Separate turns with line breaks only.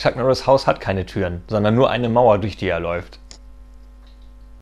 Chuck Norris Haus hat keine Türen, sondern nur eine Mauer, durch die er läuft.